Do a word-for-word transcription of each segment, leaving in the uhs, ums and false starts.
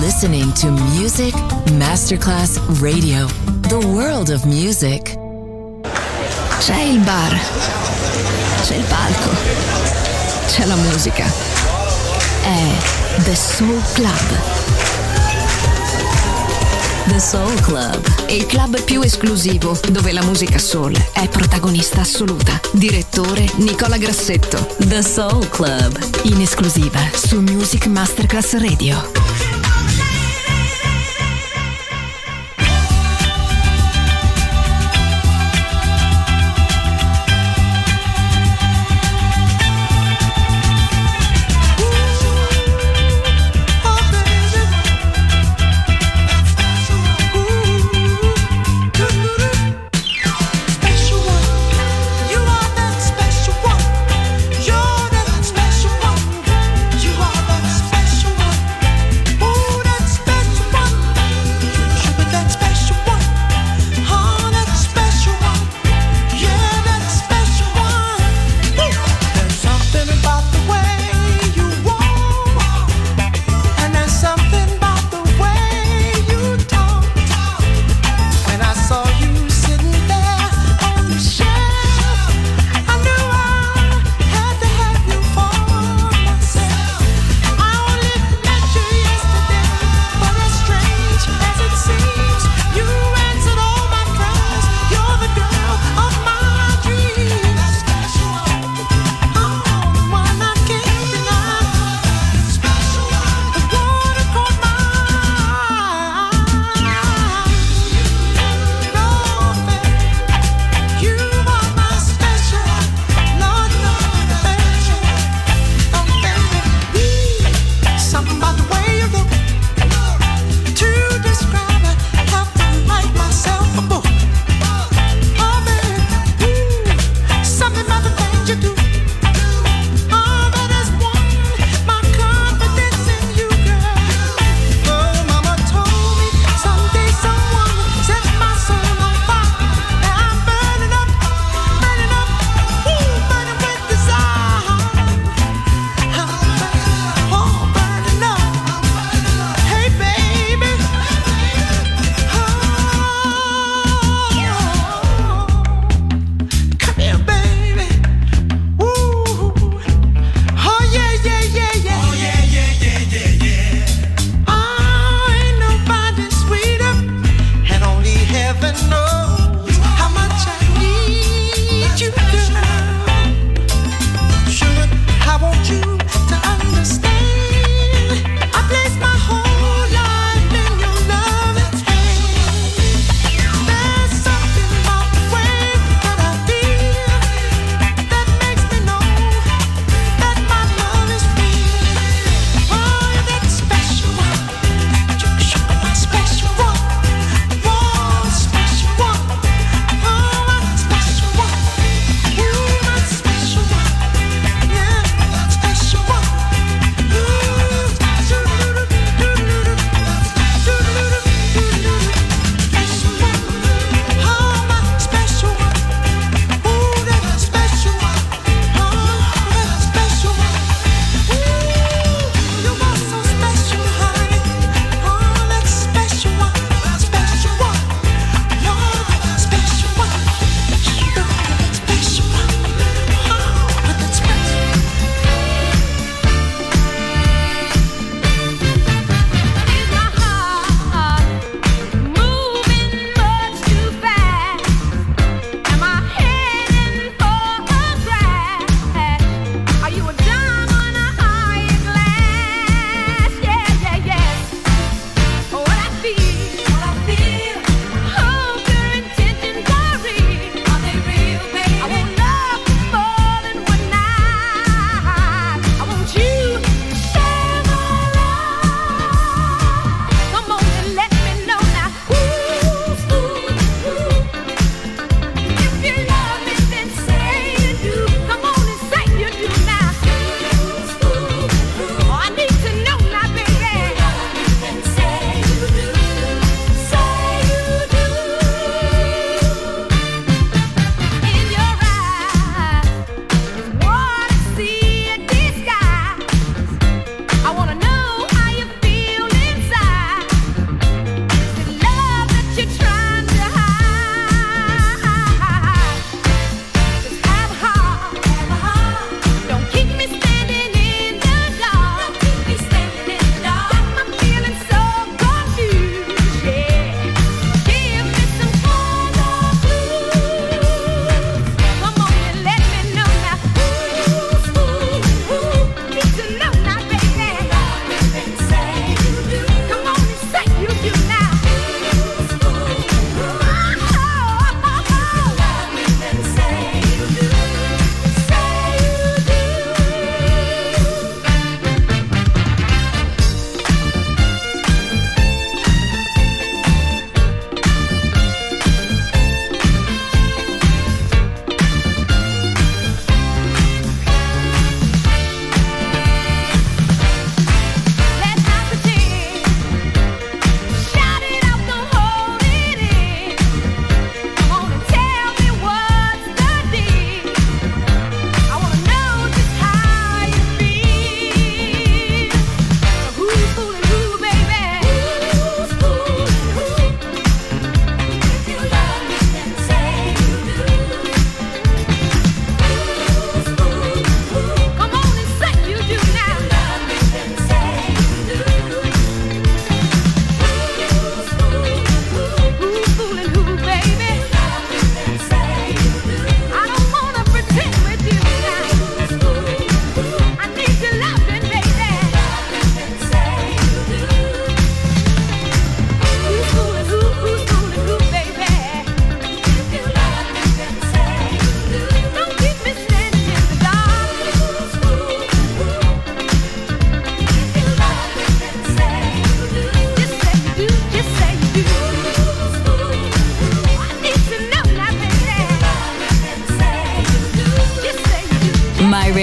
listening to Music Masterclass Radio, the world of music. C'è il bar, c'è il palco, c'è la musica. È The Soul Club. The Soul Club, il club più esclusivo dove la musica soul è protagonista assoluta. Direttore Nicola Grassetto. The Soul Club, in esclusiva su Music Masterclass Radio.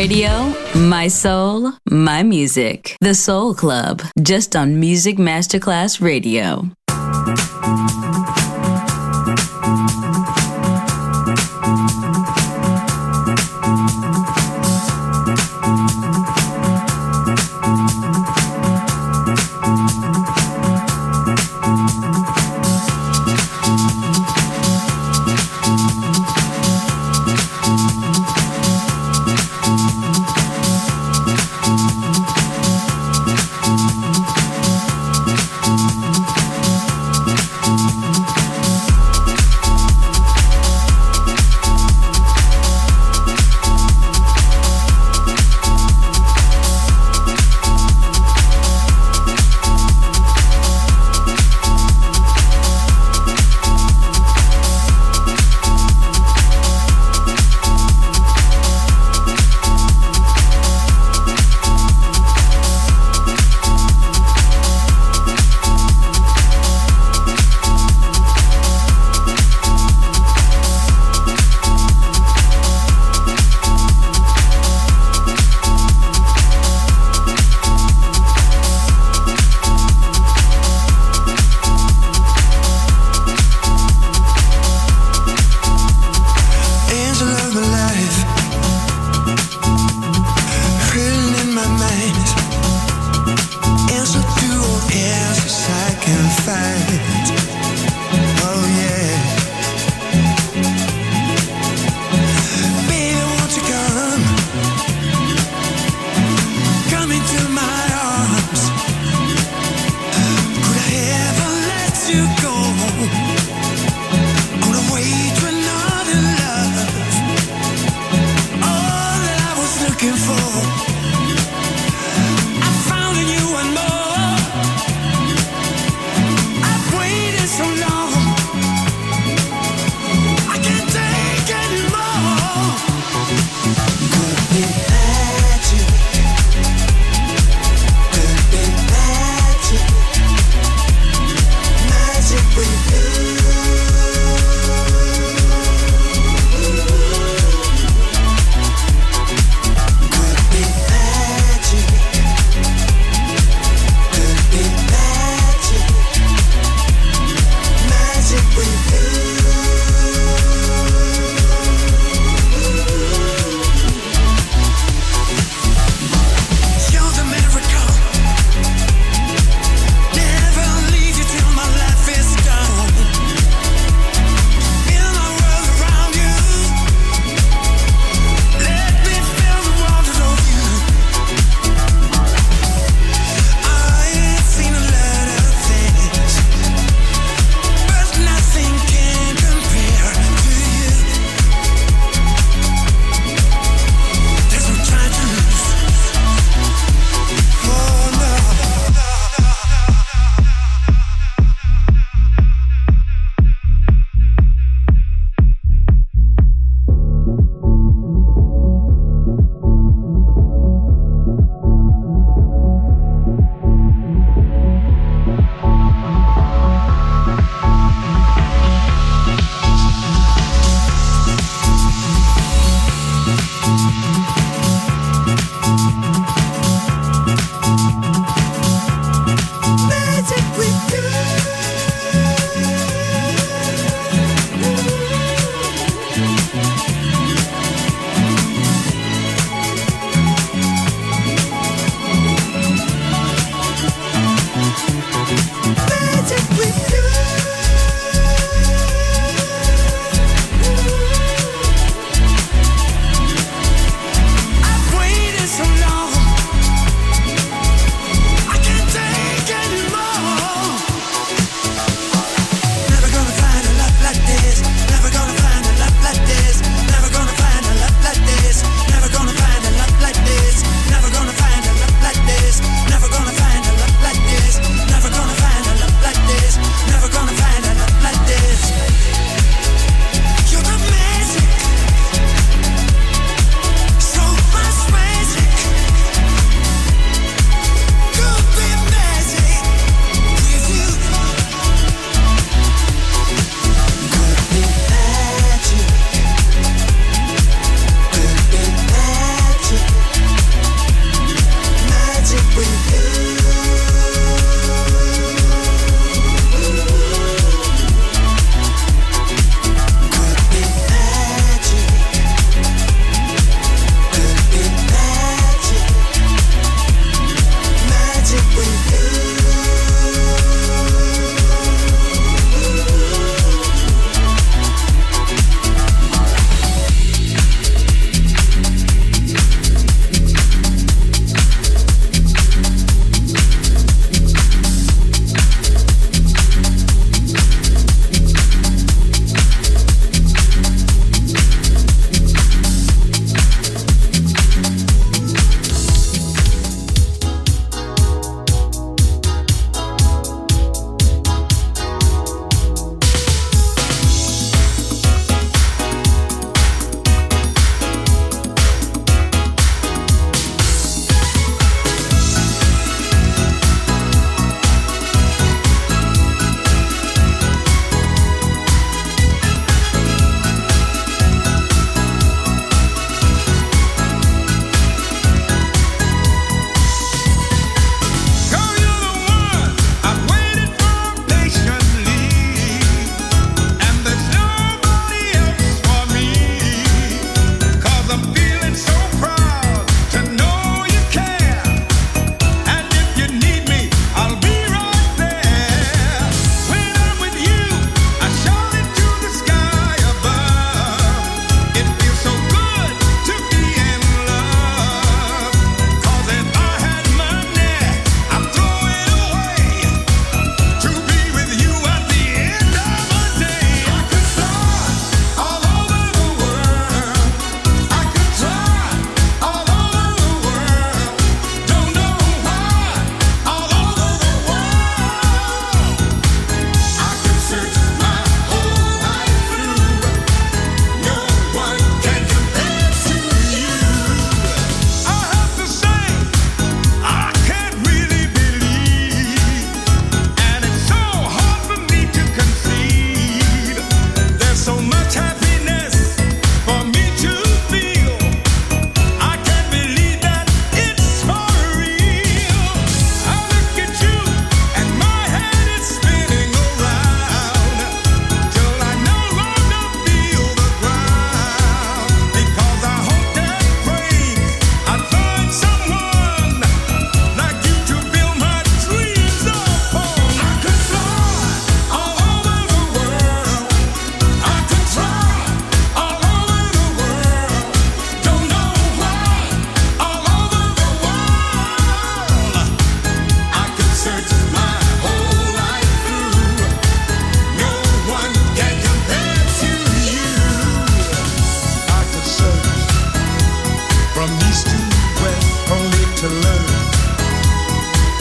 Radio, my soul, my music. The Soul Club, just on Music Masterclass Radio.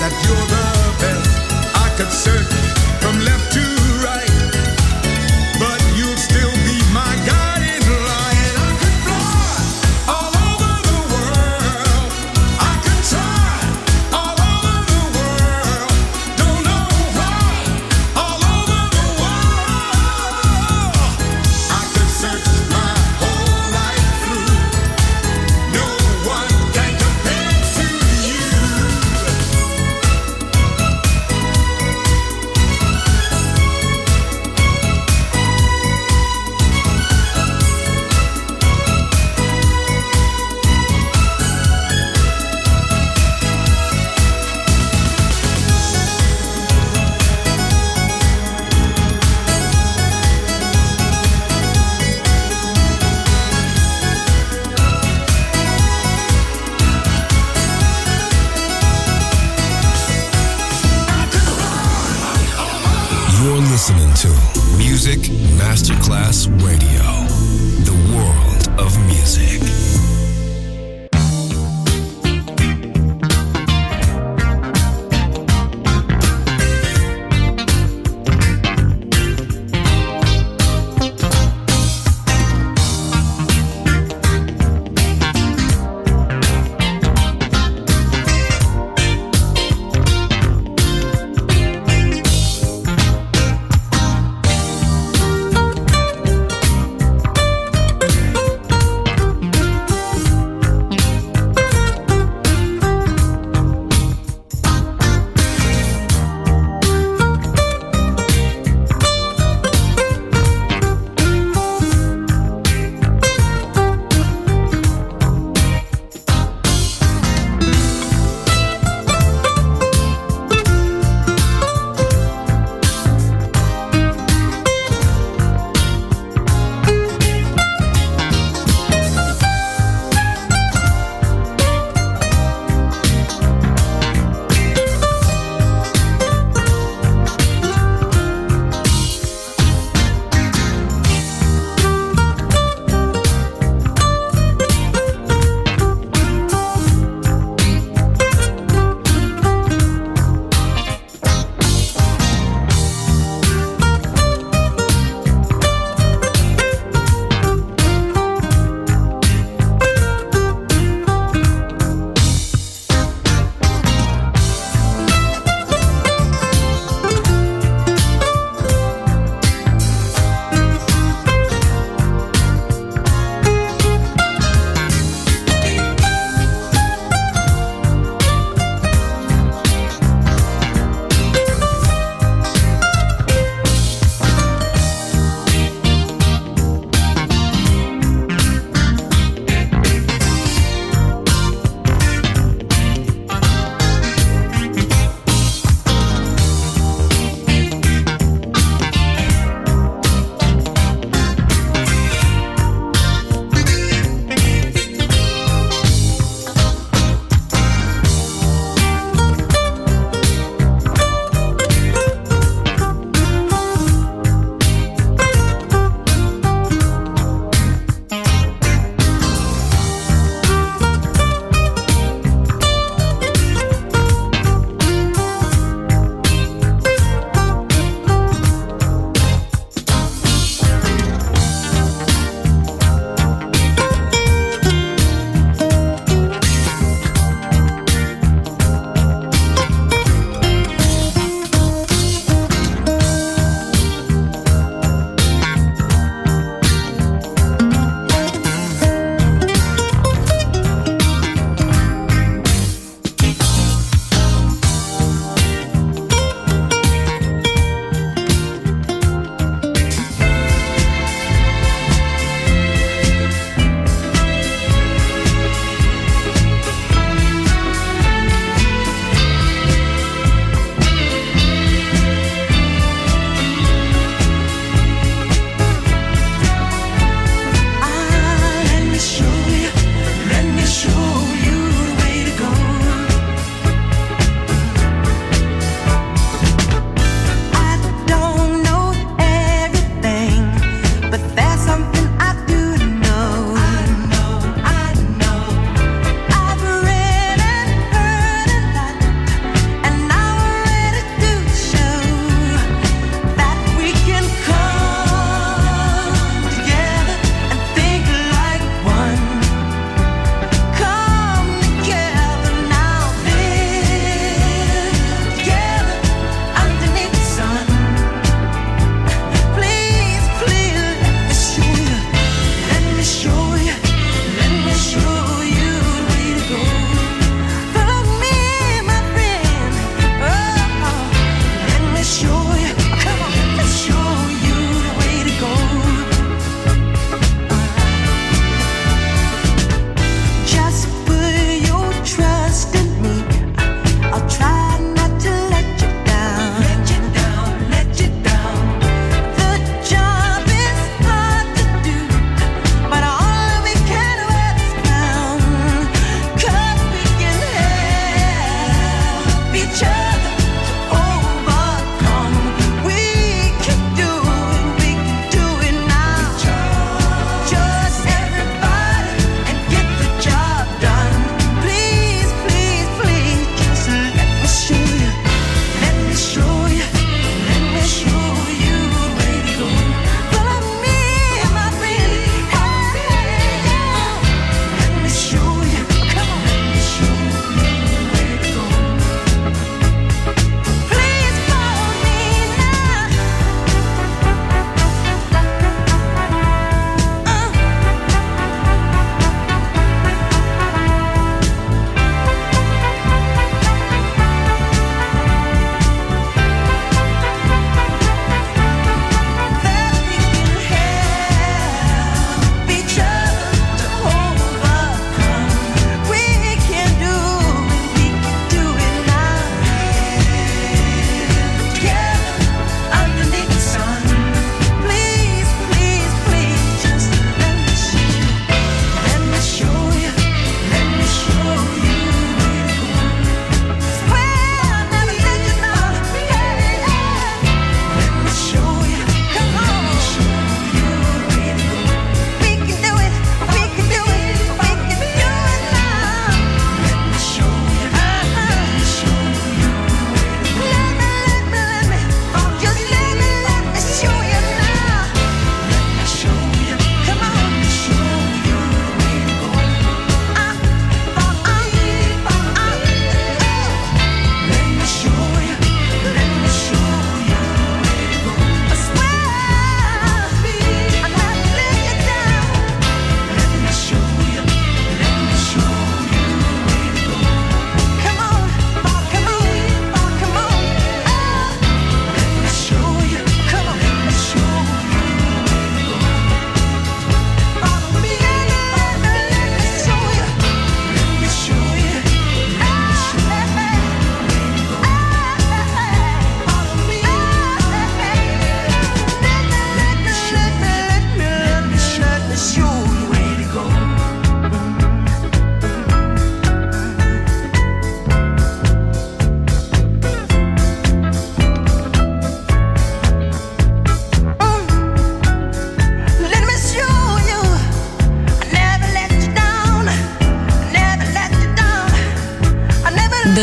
that you're the best. I could search from left to right, but you'll still be my guiding light. I could fly all over the world, I could try all over the world, don't know why, all over the world. I could search my whole life through, no one can compare to you. You're listening to Music Masterclass Radio, the world of music.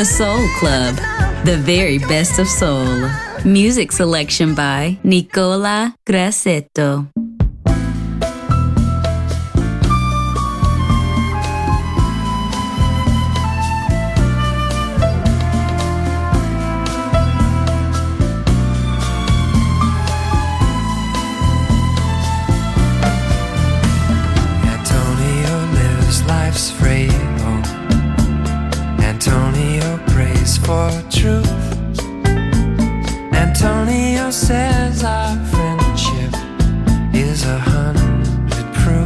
The Soul Club, the very best of soul. Music selection by Nicola Grassetto. For truth, Antonio says our friendship is a hundred proof.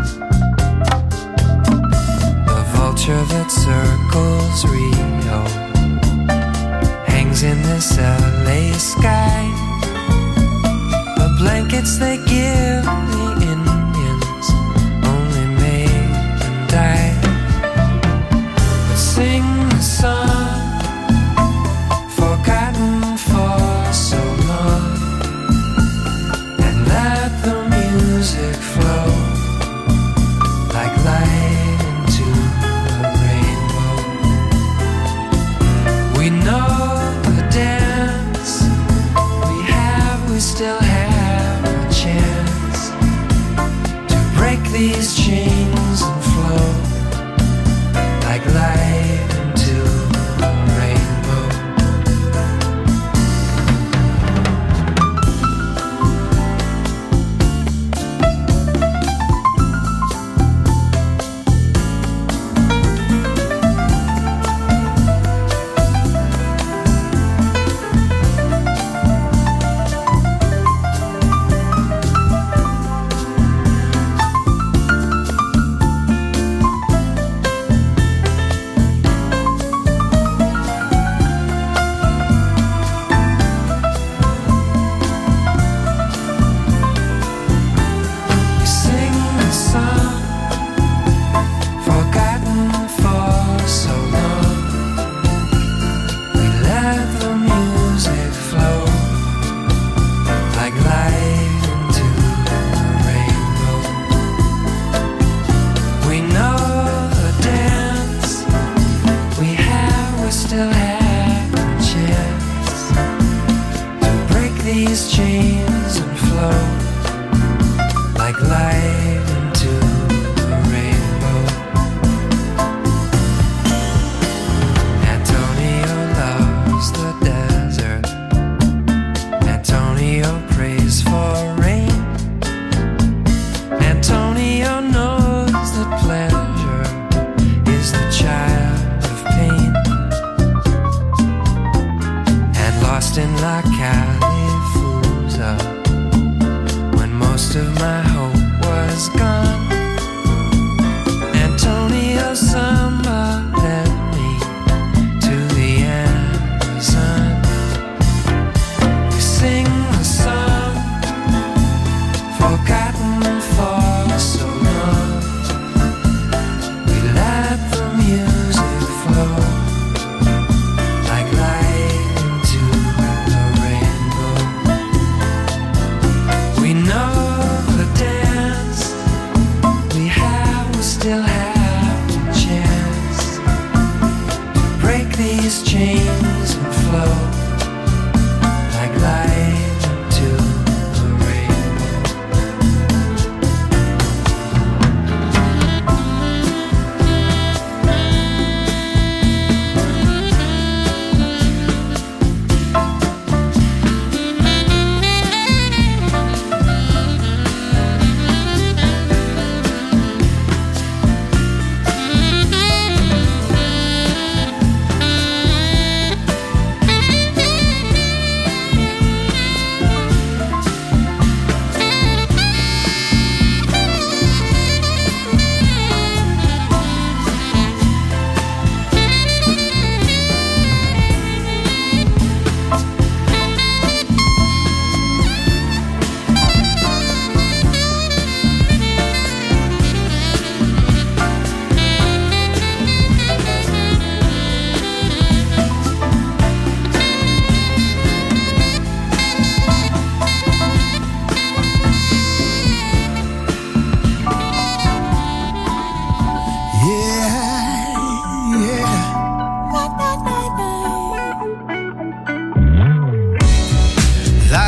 The vulture that circles Rio hangs in this L A sky. The blankets they give the Indians only made them die. But sing the song forgotten for so long, and let the music flow like light into the rainbow. We know the dance, we have, we still have a chance to break these chains and flow like light into the rainbow.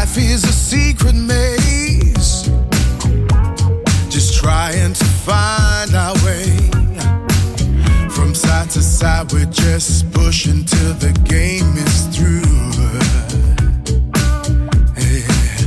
Life is a secret maze, just trying to find our way. From side to side, we're just pushing till the game is through. Yeah.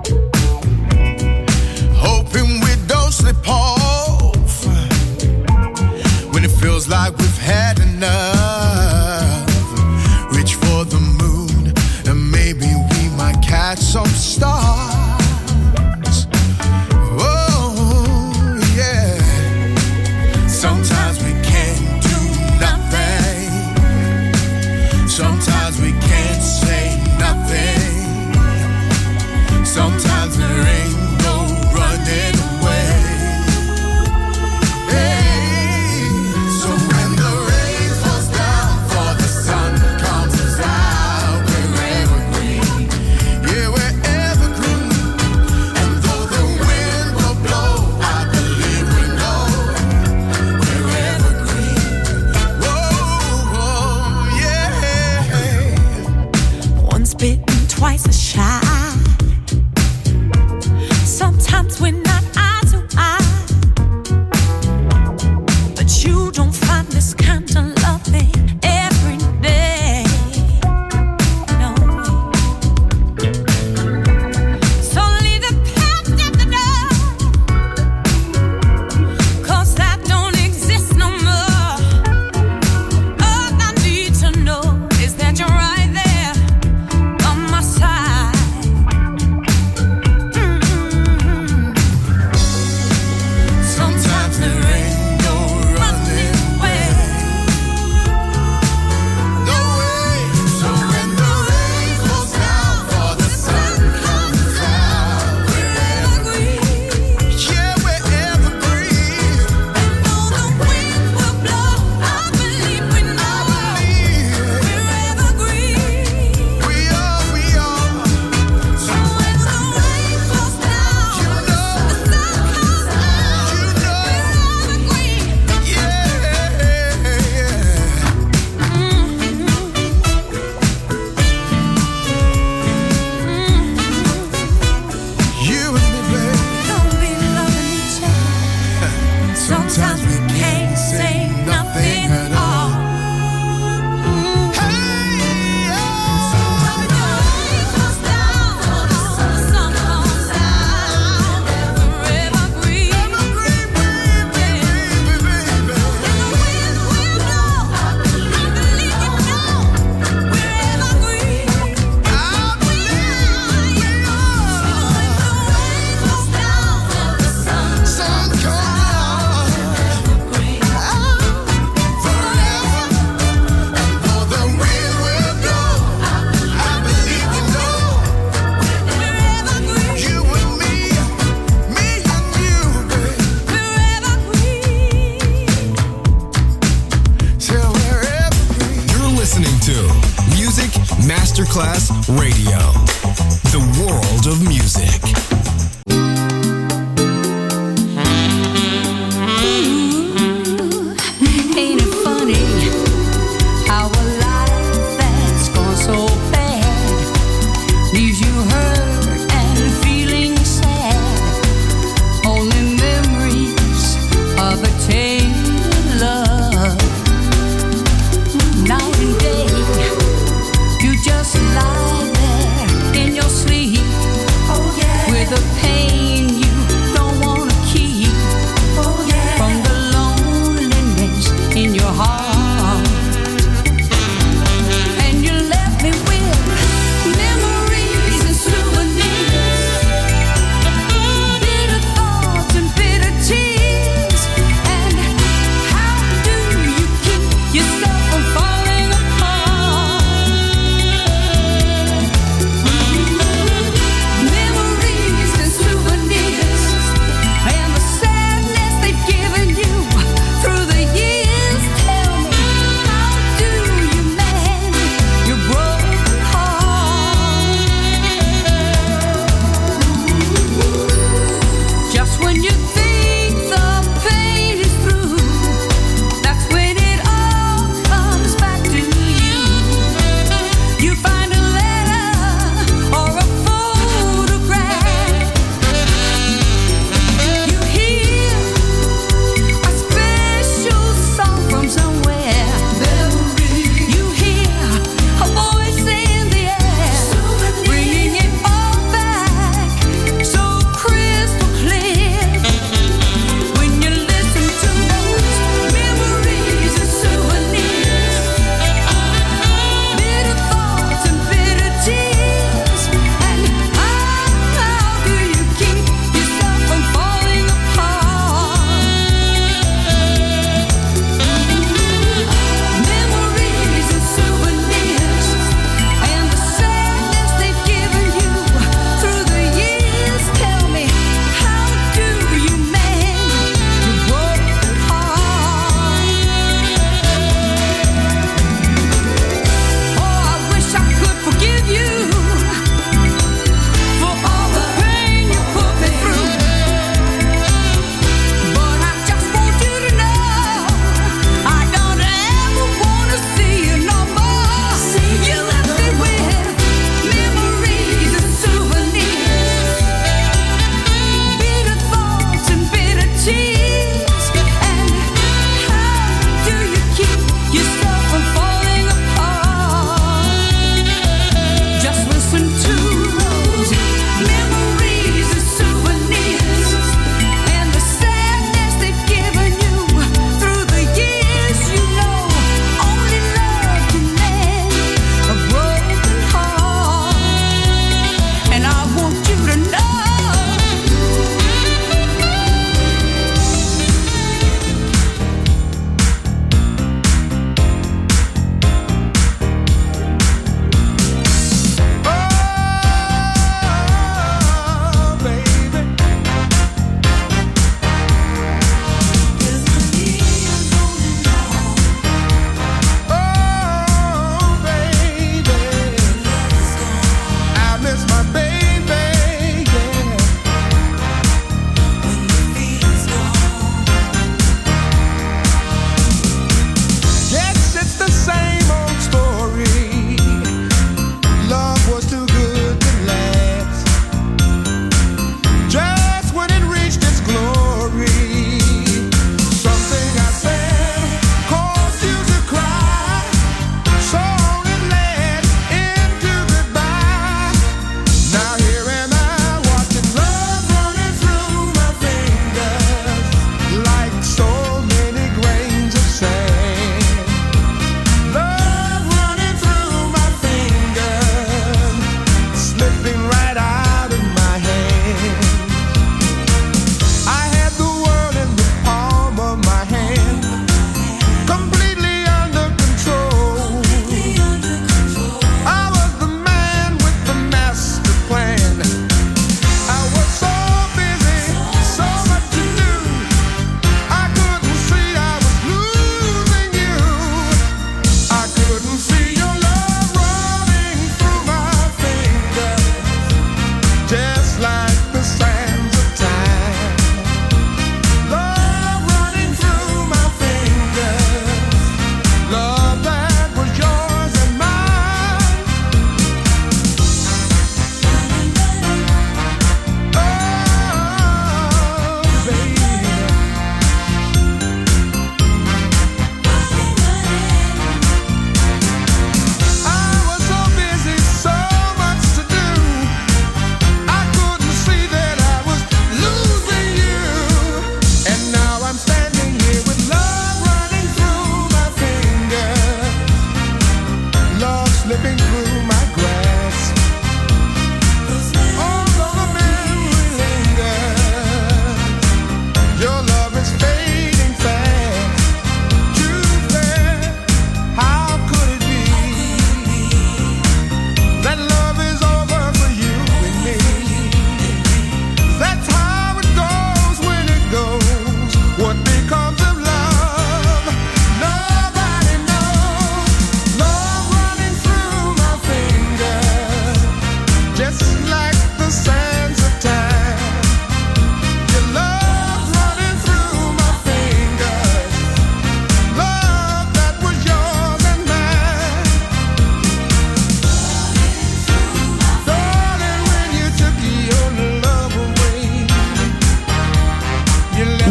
Hoping we don't slip off when it feels like we've had enough. Reach for the moon and maybe we might catch some stars. Oh, yeah. Sometimes we can't do nothing. Sometimes we can't say nothing. Sometimes there ain't no running away. Hey, so when the rain falls down for the sun comes out, we're evergreen. Yeah, we're evergreen. And though the wind will blow, I believe we know we're evergreen. Whoa, whoa, yeah. Once bitten, twice a shy. Sometimes we're not eye to eye, but you don't find this kind of loving every day. No. So leave the past at the door, 'cause that don't exist no more. All I need to know is that you're right there on my side. Mm-mm. Sometimes there ain't no running away. No way. So when the rain falls down for the sun comes out, we're evergreen. Yeah, we're evergreen. Though the wind will blow, I believe we know we're evergreen. We are, we are. So when the rain falls down, You know, the sun comes out, you know. we're evergreen. Yeah, yeah. You and me, babe. Don't be loving each other. Sometimes we can't say nothing at all. Hey, yeah. When the rain falls down, the sun comes out, we're evergreen. Evergreen, baby, baby, baby. And the wind will blow, I believe you know we're evergreen. I believe we are. Sun comes out forever, and though the wind will blow, I believe you know. You and me, me and you, babe. Till we're evergreen. You're listening to Music Masterclass Radio, the world of music. Ain't it funny how a life that's gone so bad leaves you hurt and feeling sad? Only memories of a tainted love. Night and day, you just lie there in your sleep with a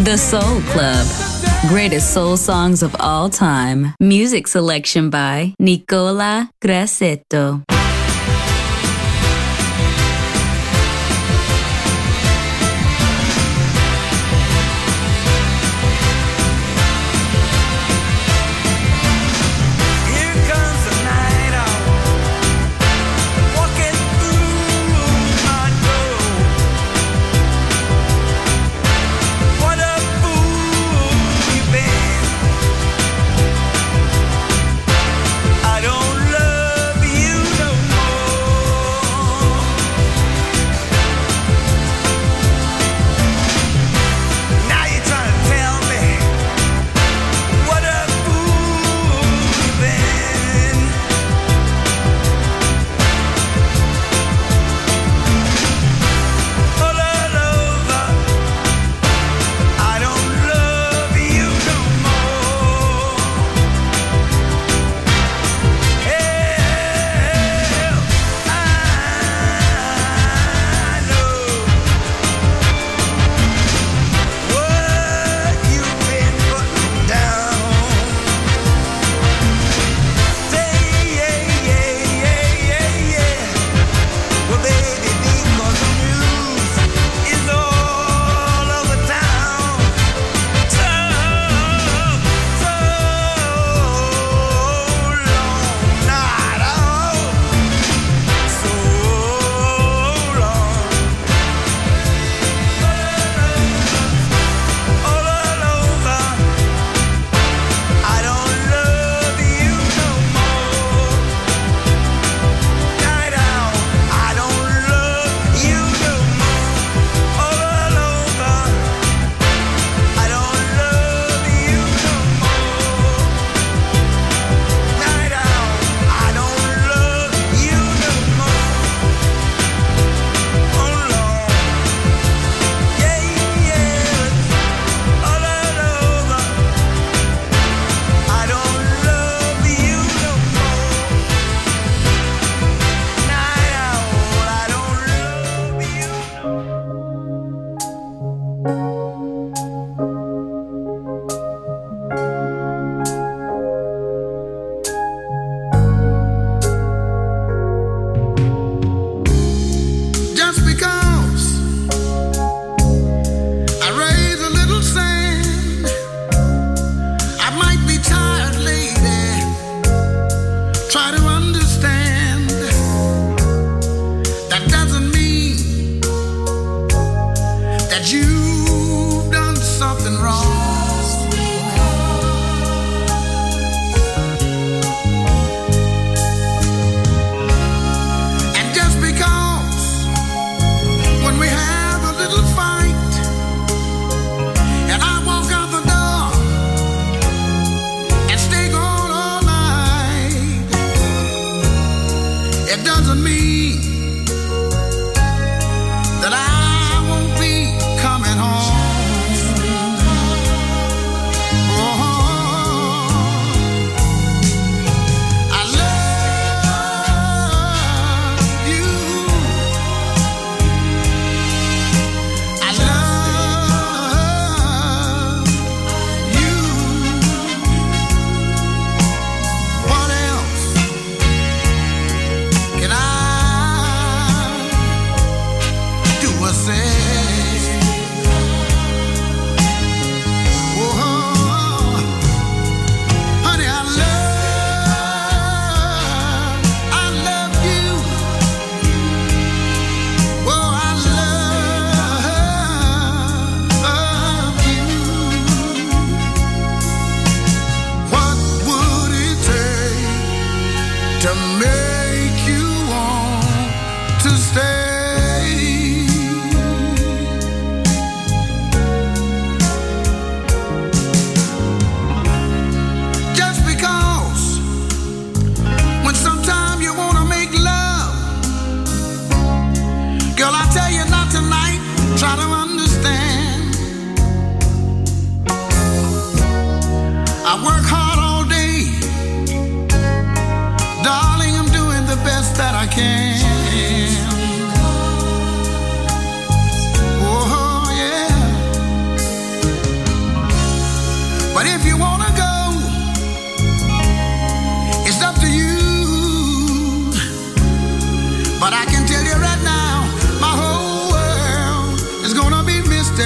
The Soul Club. Greatest soul songs of all time. Music selection by Nicola Grassetto.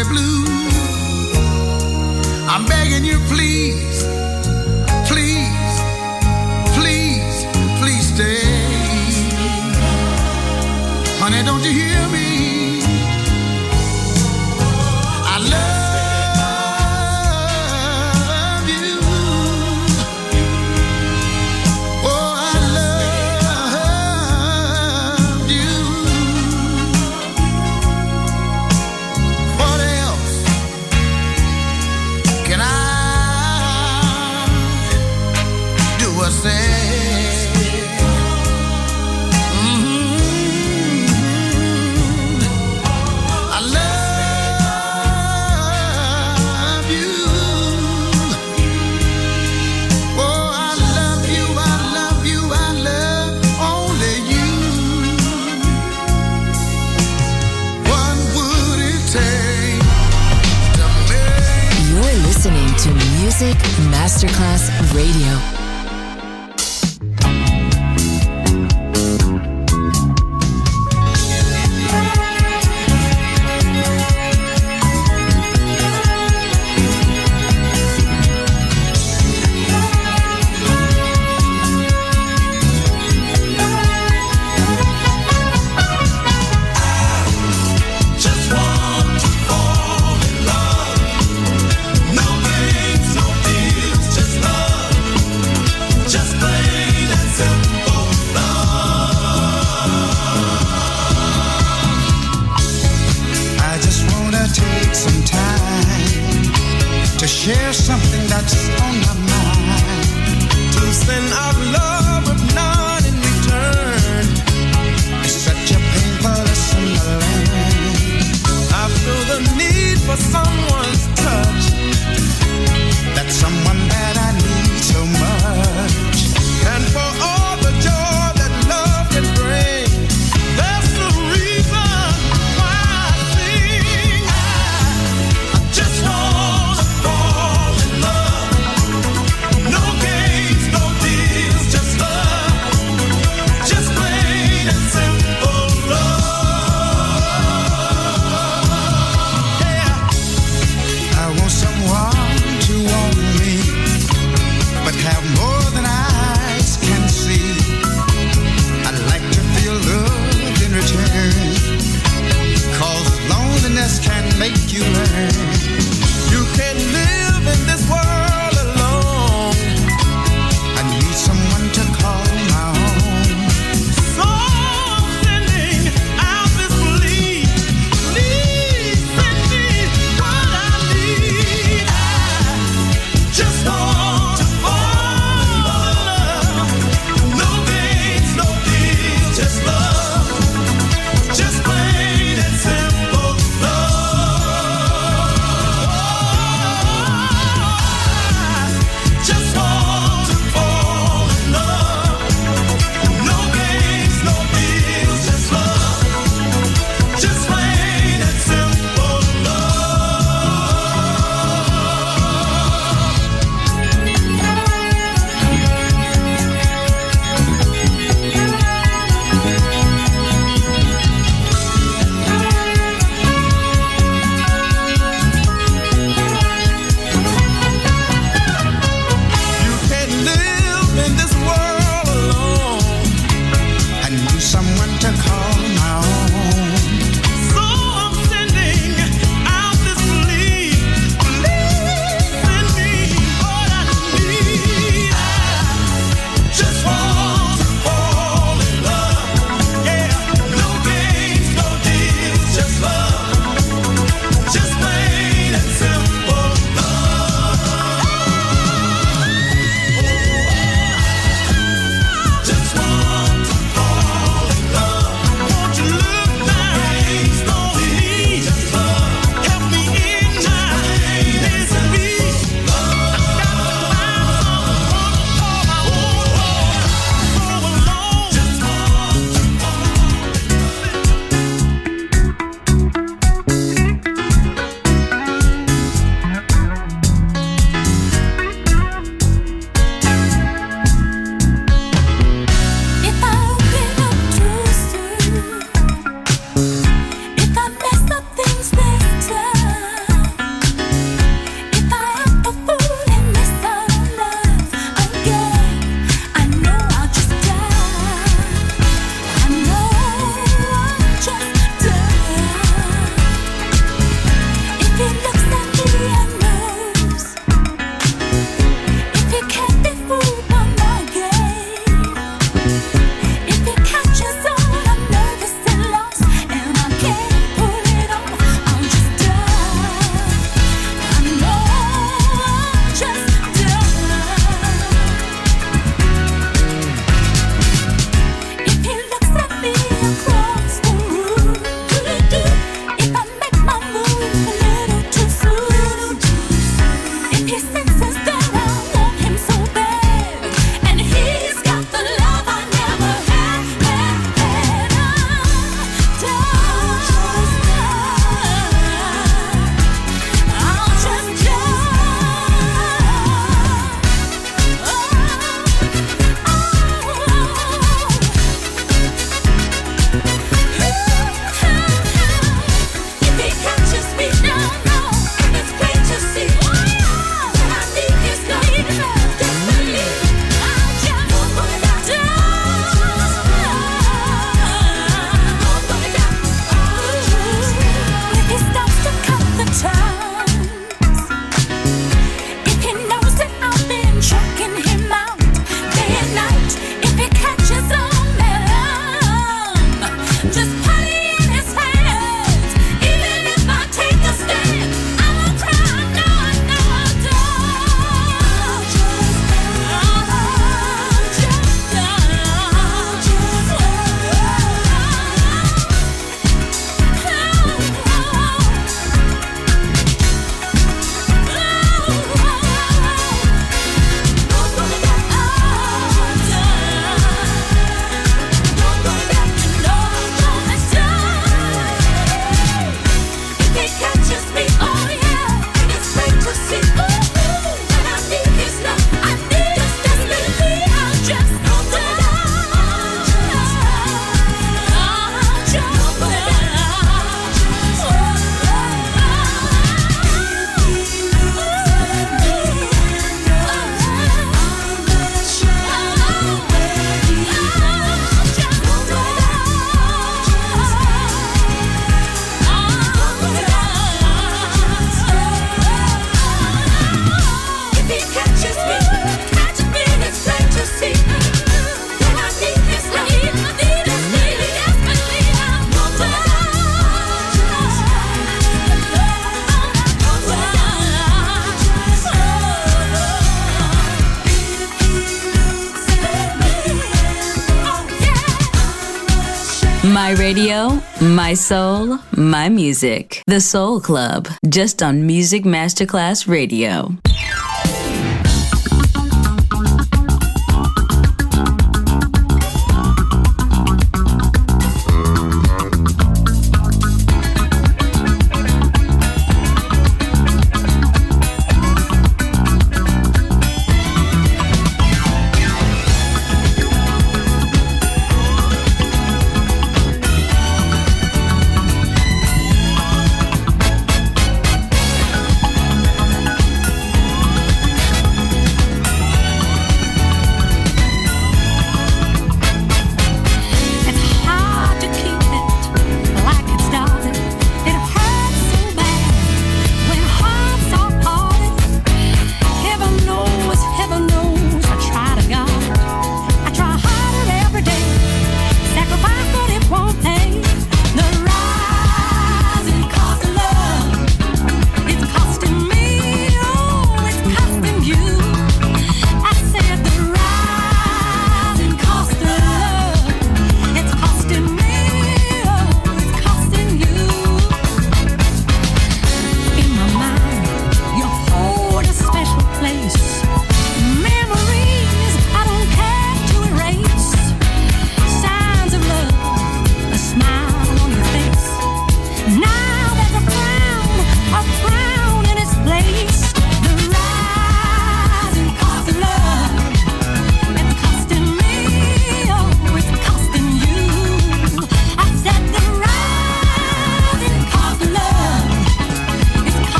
stay blue. I'm begging you, please, please, please, please stay. Honey, don't you hear me? I love you. Oh, I love you. What else can I do or say? Listening to Music Masterclass Radio. Share something that's on my mind. To send out love with none in return. It's such a painful lesson to learn. I feel the need for someone's touch. That's someone that I need so much. And for all the joy that love can bring, that's the reason why I sing. I, I just want can make you learn. You can't live in this world alone. I need someone to call my own. So I'm sending out this plea. Please send me what I need. I just want to fall in love. No games, no deals, just love. Just plain and simple. Look My radio, my soul, my music. The Soul Club, just on Music Masterclass Radio.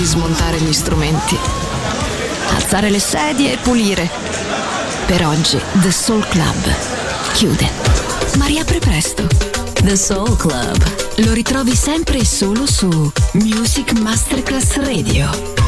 smontare gli strumenti, alzare le sedie e pulire. Per oggi The Soul Club chiude, ma riapre presto. The Soul Club. Lo ritrovi sempre e solo su Music Masterclass Radio.